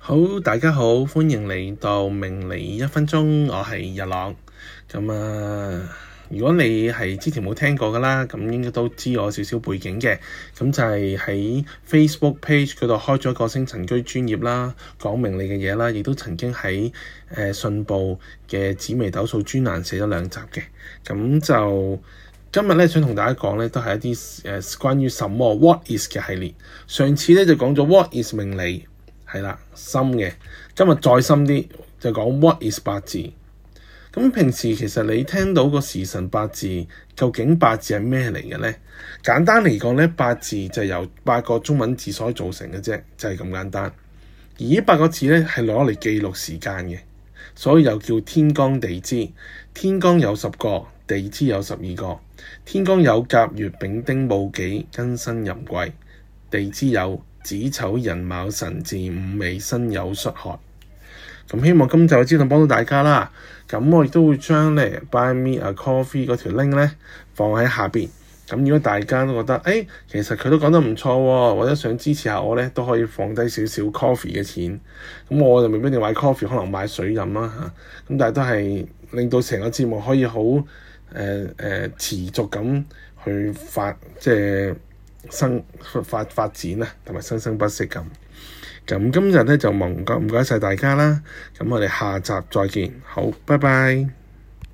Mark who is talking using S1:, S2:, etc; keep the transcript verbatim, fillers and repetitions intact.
S1: 好，大家好，歡迎嚟到命理一分鐘，我係日朗。咁啊，如果你係之前冇聽過噶啦，咁應該都知我少少背景嘅。咁就係喺 Facebook page 嗰度開咗個星塵居專頁啦，講命理嘅嘢啦，亦都曾經喺誒信報嘅紫微斗數專欄寫咗兩集嘅。咁就今日咧想同大家講咧，都係一啲誒、呃、關於什麼 What is 嘅系列。上次咧就講咗 What is 命理。係啦，深嘅。今日再深啲，就講 What is 八字。咁平時其實你聽到個時辰八字，究竟八字係咩嚟嘅呢？簡單嚟講咧，八字就由八個中文字所組成嘅啫，就係咁簡單。而呢八個字咧係攞嚟記錄時間嘅，所以又叫天干地支。天干有十個，地支有十二個。天干有甲、乙、丙、丁、戊、己、庚、辛、壬、癸，地支有子丑寅卯辰巳午未申酉戌亥。咁希望今集嘅資訊幫到大家啦。咁我亦都會將咧 Buy Me a Coffee 嗰條 link 咧放喺下邊。咁如果大家都覺得誒、欸、其實佢都講得唔錯喎，或者想支持下我咧，都可以放低少少 coffee 嘅錢。咁我就未必一定買 coffee，可能買水飲啦嚇。咁但係都係令到成個節目可以好誒誒持續咁去發即係生發發展啊，同埋生生不息咁。咁今日咧就唔該唔該晒大家啦。咁我哋下集再見，好，拜拜。